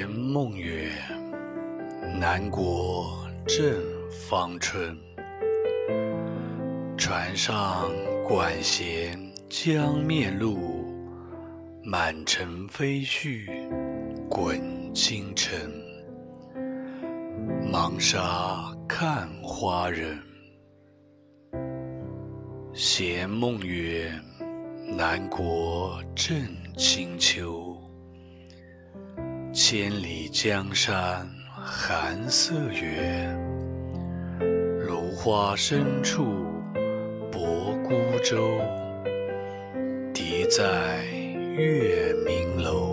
梦月，南国正芳春。船上管弦将面露，满城飞絮滚京城。忙沙看花人，闲梦月，南国正清秋。千里江山寒色远，芦花深处泊孤舟。笛在月明楼。